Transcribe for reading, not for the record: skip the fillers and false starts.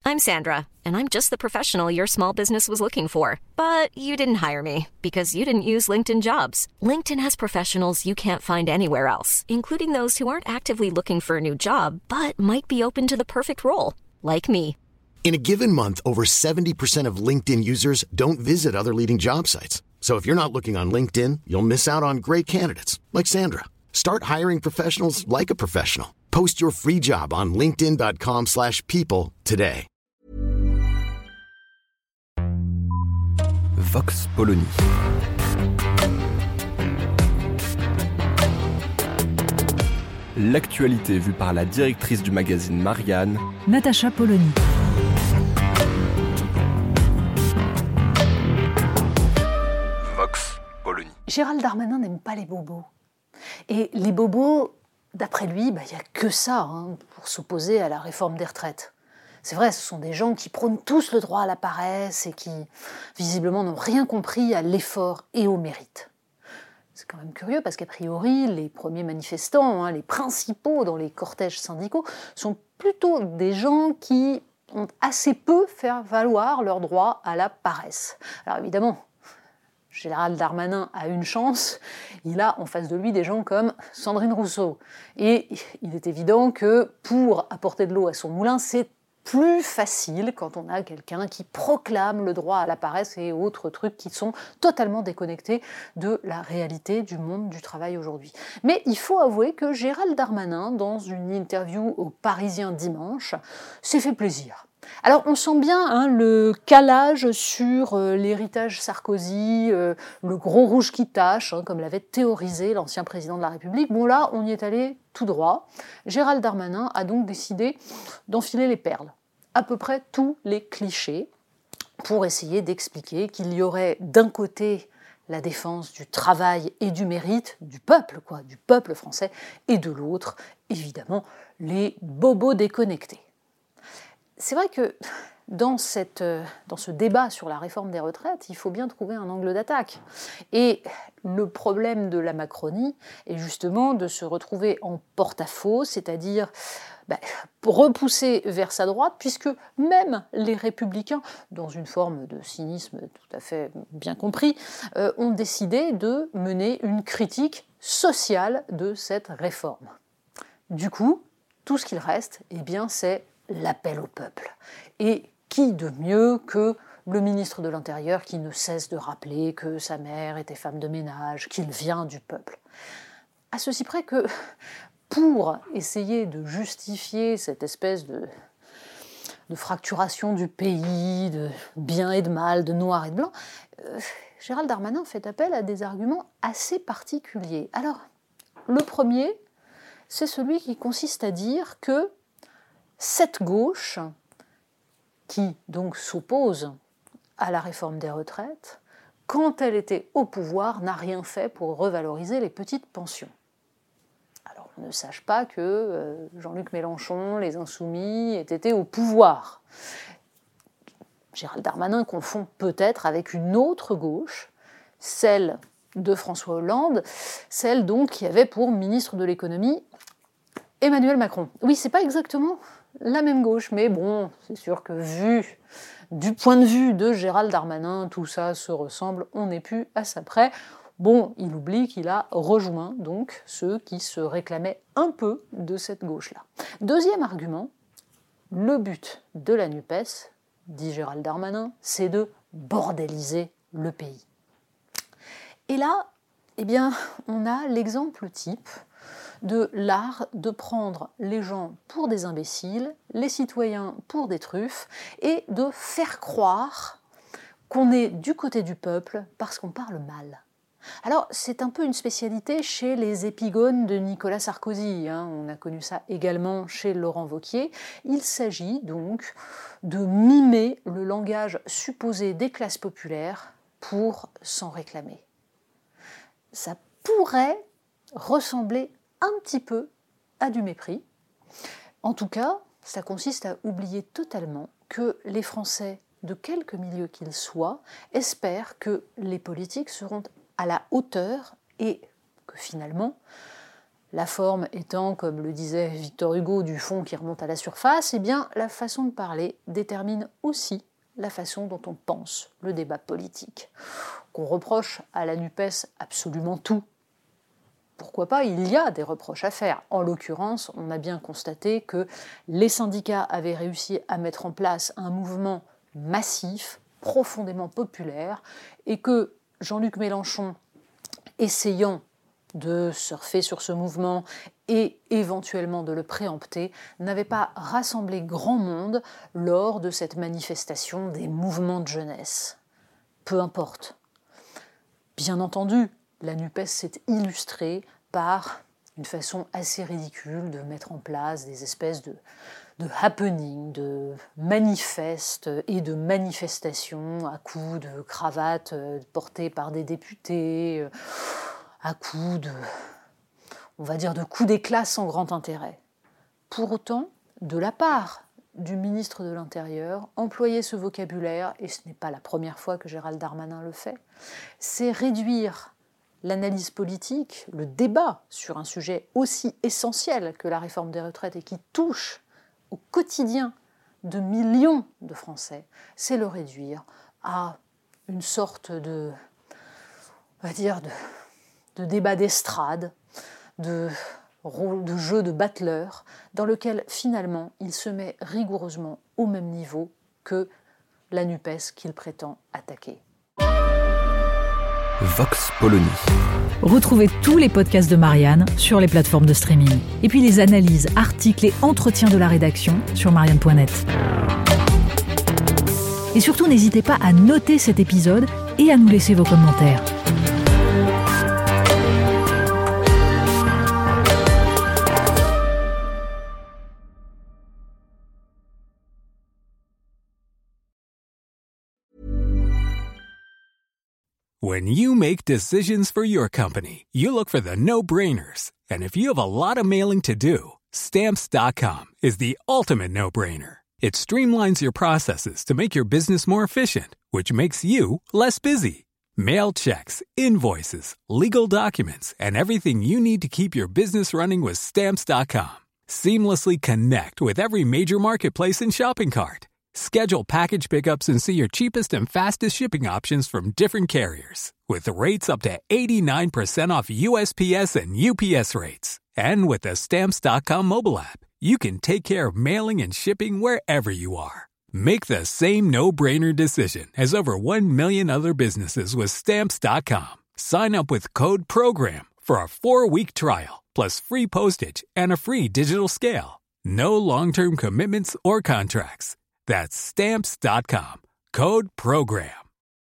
I'm Sandra, and I'm just the professional your small business was looking for. But you didn't hire me because you didn't use LinkedIn Jobs. LinkedIn has professionals you can't find anywhere else, including those who aren't actively looking for a new job, but might be open to the perfect role, like me. In a given month, over 70% of LinkedIn users don't visit other leading job sites. So if you're not looking on LinkedIn, you'll miss out on great candidates like Sandra. Start hiring professionals like a professional. Post your free job on linkedin.com/people today. Vox Polony. L'actualité vue par la directrice du magazine Marianne, Natacha Polony. Vox Polony. Gérald Darmanin n'aime pas les bobos. Et les bobos, d'après lui, il n'y a que ça pour s'opposer à la réforme des retraites. C'est vrai, ce sont des gens qui prônent tous le droit à la paresse et qui, visiblement, n'ont rien compris à l'effort et au mérite. C'est quand même curieux parce qu'a priori, les premiers manifestants, les principaux dans les cortèges syndicaux, sont plutôt des gens qui ont assez peu fait valoir leur droit à la paresse. Alors évidemment, Gérald Darmanin a une chance, il a en face de lui des gens comme Sandrine Rousseau. Et il est évident que pour apporter de l'eau à son moulin, c'est plus facile quand on a quelqu'un qui proclame le droit à la paresse et autres trucs qui sont totalement déconnectés de la réalité du monde du travail aujourd'hui. Mais il faut avouer que Gérald Darmanin, dans une interview au Parisien dimanche, s'est fait plaisir. Alors on sent bien le calage sur l'héritage Sarkozy, le gros rouge qui tâche, comme l'avait théorisé l'ancien président de la République. Bon là, on y est allé tout droit. Gérald Darmanin a donc décidé d'enfiler les perles, à peu près tous les clichés, pour essayer d'expliquer qu'il y aurait d'un côté la défense du travail et du mérite du peuple français, et de l'autre, évidemment, les bobos déconnectés. C'est vrai que dans ce débat sur la réforme des retraites, il faut bien trouver un angle d'attaque. Et le problème de la Macronie est justement de se retrouver en porte-à-faux, c'est-à-dire repoussé vers sa droite, puisque même les républicains, dans une forme de cynisme tout à fait bien compris, ont décidé de mener une critique sociale de cette réforme. Du coup, tout ce qu'il reste, c'est l'appel au peuple. Et qui de mieux que le ministre de l'Intérieur qui ne cesse de rappeler que sa mère était femme de ménage, qu'il vient du peuple. À ceci près que, pour essayer de justifier cette espèce de fracturation du pays, de bien et de mal, de noir et de blanc, Gérald Darmanin fait appel à des arguments assez particuliers. Alors, le premier, c'est celui qui consiste à dire que cette gauche, qui donc s'oppose à la réforme des retraites, quand elle était au pouvoir, n'a rien fait pour revaloriser les petites pensions. Alors on ne sache pas que Jean-Luc Mélenchon, les Insoumis, aient été au pouvoir. Gérald Darmanin confond peut-être avec une autre gauche, celle de François Hollande, celle donc qui avait pour ministre de l'économie Emmanuel Macron. Oui, c'est pas exactement la même gauche, mais bon, c'est sûr que vu du point de vue de Gérald Darmanin, tout ça se ressemble, on n'est plus à ça près. Bon, il oublie qu'il a rejoint donc ceux qui se réclamaient un peu de cette gauche-là. Deuxième argument, le but de la NUPES, dit Gérald Darmanin, c'est de bordéliser le pays. Et là, on a l'exemple type de l'art de prendre les gens pour des imbéciles, les citoyens pour des truffes, et de faire croire qu'on est du côté du peuple parce qu'on parle mal. Alors, c'est un peu une spécialité chez les épigones de Nicolas Sarkozy, on a connu ça également chez Laurent Wauquiez. Il s'agit donc de mimer le langage supposé des classes populaires pour s'en réclamer. Ça pourrait ressembler un petit peu à du mépris. En tout cas, ça consiste à oublier totalement que les Français, de quelque milieu qu'ils soient, espèrent que les politiques seront à la hauteur et que finalement, La forme étant, comme le disait Victor Hugo, du fond qui remonte à la surface, eh bien, la façon de parler détermine aussi la façon dont on pense le débat politique. Qu'on reproche à la NUPES absolument tout. Pourquoi pas, il y a des reproches à faire. En l'occurrence, on a bien constaté que les syndicats avaient réussi à mettre en place un mouvement massif, profondément populaire, et que Jean-Luc Mélenchon, essayant de surfer sur ce mouvement et éventuellement de le préempter, n'avait pas rassemblé grand monde lors de cette manifestation des mouvements de jeunesse. Peu importe. Bien entendu, la NUPES s'est illustrée par une façon assez ridicule de mettre en place des espèces de happenings, de manifestes et de manifestations à coups de cravates portées par des députés, à coups de coups d'éclat sans grand intérêt. Pour autant, de la part du ministre de l'Intérieur, employer ce vocabulaire, et ce n'est pas la première fois que Gérald Darmanin le fait, c'est réduire l'analyse politique, le débat sur un sujet aussi essentiel que la réforme des retraites et qui touche au quotidien de millions de Français, c'est le réduire à une sorte de débat d'estrade, de jeu de battleur, dans lequel finalement il se met rigoureusement au même niveau que la NUPES qu'il prétend attaquer. Vox Polony. Retrouvez tous les podcasts de Marianne sur les plateformes de streaming. Et puis les analyses, articles et entretiens de la rédaction sur marianne.net. Et surtout, n'hésitez pas à noter cet épisode et à nous laisser vos commentaires. When you make decisions for your company, you look for the no-brainers. And if you have a lot of mailing to do, Stamps.com is the ultimate no-brainer. It streamlines your processes to make your business more efficient, which makes you less busy. Mail checks, invoices, legal documents, and everything you need to keep your business running with Stamps.com. Seamlessly connect with every major marketplace and shopping cart. Schedule package pickups and see your cheapest and fastest shipping options from different carriers. With rates up to 89% off USPS and UPS rates. And with the Stamps.com mobile app, you can take care of mailing and shipping wherever you are. Make the same no-brainer decision as over 1 million other businesses with Stamps.com. Sign up with code PROGRAM for a 4-week trial, plus free postage and a free digital scale. No long-term commitments or contracts. That's Stamps.com. Code PROGRAM.